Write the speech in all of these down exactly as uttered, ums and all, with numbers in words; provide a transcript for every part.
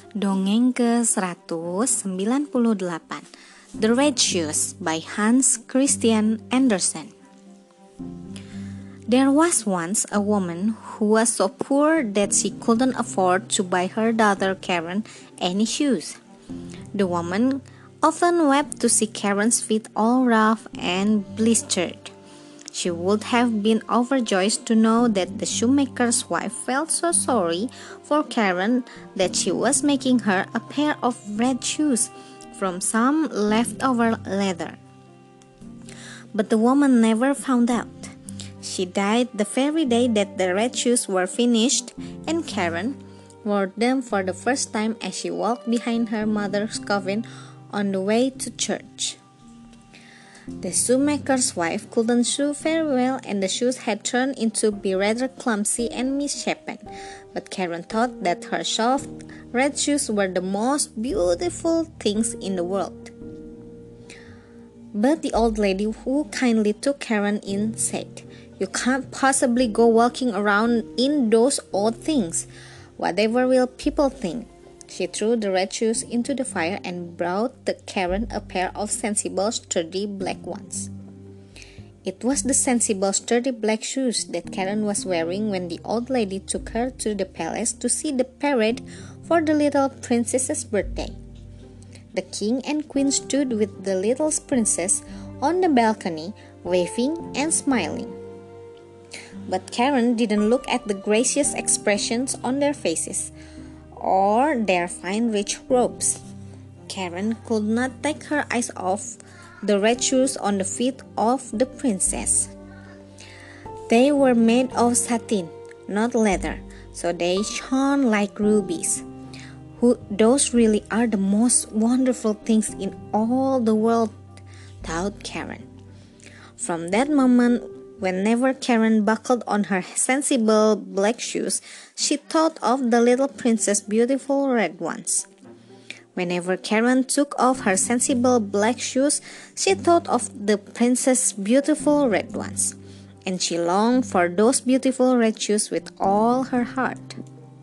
Dongeng ke seratus sembilan puluh delapan, The Red Shoes by Hans Christian Andersen. There was once a woman who was so poor that she couldn't afford to buy her daughter Karen any shoes. The woman often wept to see Karen's feet all rough and blistered. She would have been overjoyed to know that the shoemaker's wife felt so sorry for Karen that she was making her a pair of red shoes from some leftover leather. But the woman never found out. She died the very day that the red shoes were finished, and Karen wore them for the first time as she walked behind her mother's coffin on the way to church. The shoemaker's wife couldn't sew very well, and the shoes had turned into be rather clumsy and misshapen. But Karen thought that her soft red shoes were the most beautiful things in the world. But the old lady who kindly took Karen in said, "You can't possibly go walking around in those old things. Whatever will people think?" She threw the red shoes into the fire and brought the Karen a pair of sensible, sturdy black ones. It was the sensible, sturdy black shoes that Karen was wearing when the old lady took her to the palace to see the parade for the little princess's birthday. The king and queen stood with the little princess on the balcony, waving and smiling. But Karen didn't look at the gracious expressions on their faces, or their fine rich robes. Karen could not take her eyes off the red shoes on the feet of the princess. They were made of satin, not leather, so they shone like rubies. Who, those really are the most wonderful things in all the world, thought Karen. From that moment, whenever Karen buckled on her sensible black shoes, she thought of the little princess' beautiful red ones. Whenever Karen took off her sensible black shoes, she thought of the princess' beautiful red ones, and she longed for those beautiful red shoes with all her heart.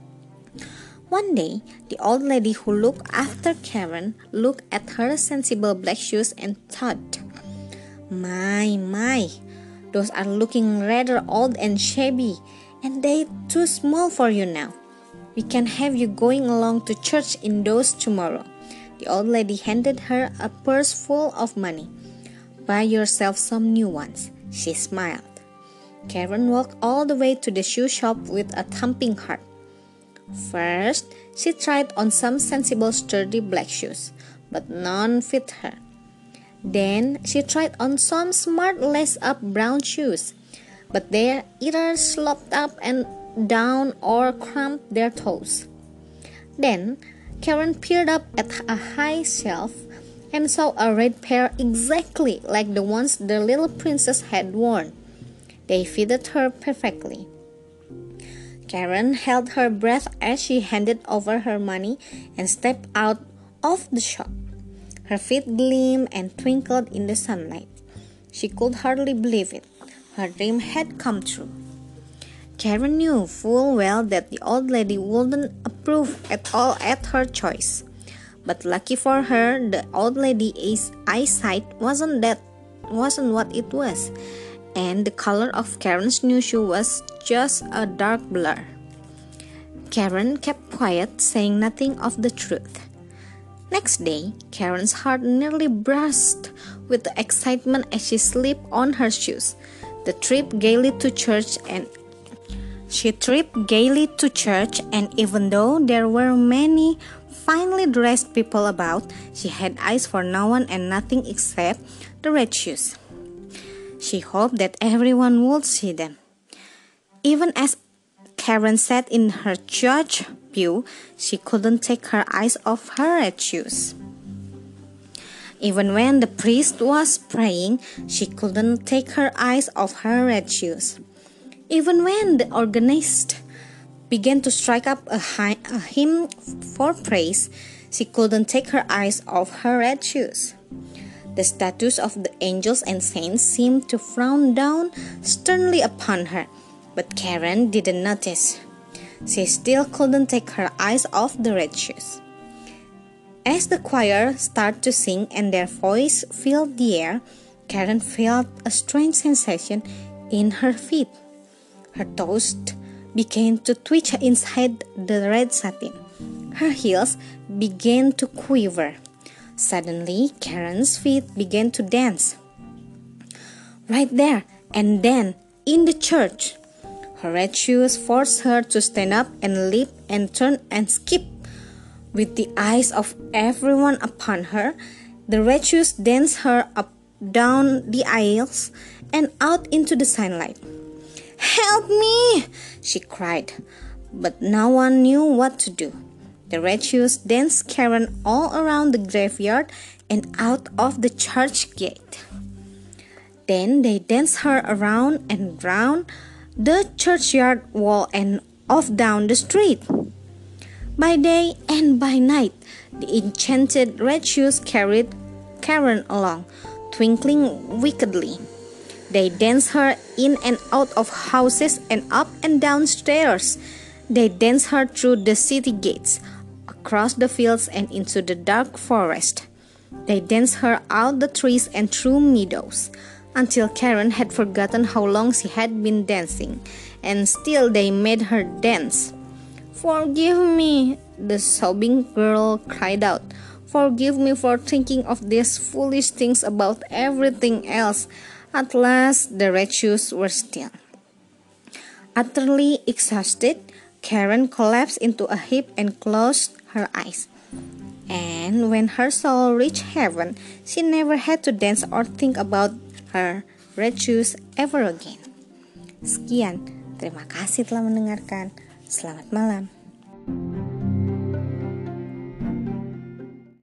One day, the old lady who looked after Karen looked at her sensible black shoes and thought, "My, my, those are looking rather old and shabby, and they're too small for you now. We can have you going along to church in those tomorrow." The old lady handed her a purse full of money. "Buy yourself some new ones," she smiled. Karen walked all the way to the shoe shop with a thumping heart. First, she tried on some sensible, sturdy black shoes, but none fit her. Then she tried on some smart lace-up brown shoes, but they either slopped up and down or cramped their toes. Then Karen peered up at a high shelf and saw a red pair exactly like the ones the little princess had worn. They fitted her perfectly. Karen held her breath as she handed over her money and stepped out of the shop. Her feet gleamed and twinkled in the sunlight. She could hardly believe it. Her dream had come true. Karen knew full well that the old lady wouldn't approve at all at her choice. But lucky for her, the old lady's eyesight wasn't that wasn't what it was, and the color of Karen's new shoe was just a dark blur. Karen kept quiet, saying nothing of the truth. Next day, Karen's heart nearly burst with the excitement as she slipped on her shoes. The trip gaily to church and she tripped gaily to church, and even though there were many finely dressed people about, she had eyes for no one and nothing except the red shoes. She hoped that everyone would see them. Even as Karen sat in her church pew, she couldn't take her eyes off her red shoes. Even when the priest was praying, she couldn't take her eyes off her red shoes. Even when the organist began to strike up a, high, a hymn for praise, she couldn't take her eyes off her red shoes. The statues of the angels and saints seemed to frown down sternly upon her, but Karen didn't notice. She still couldn't take her eyes off the red shoes. As the choir started to sing and their voice filled the air, Karen felt a strange sensation in her feet. Her toes began to twitch inside the red satin. Her heels began to quiver. Suddenly, Karen's feet began to dance. Right there and then, in the church, her red shoes forced her to stand up and leap and turn and skip. With the eyes of everyone upon her, the red shoes danced her up, down the aisles, and out into the sunlight. "Help me!" she cried, but no one knew what to do. The red shoes danced Karen all around the graveyard and out of the church gate. Then they danced her around and round the churchyard wall and off down the street. By day and by night, the enchanted red shoes carried Karen along, twinkling wickedly. They danced her in and out of houses and up and down stairs. They danced her through the city gates, across the fields and into the dark forest. They danced her out the trees and through meadows, until Karen had forgotten how long she had been dancing, and still they made her dance. "Forgive me," the sobbing girl cried out. "Forgive me for thinking of these foolish things about everything else." At last, the red shoes were still. Utterly exhausted, Karen collapsed into a heap and closed her eyes. And when her soul reached heaven, she never had to dance or think about her red shoes ever again. Sekian, terima kasih telah mendengarkan. Selamat malam.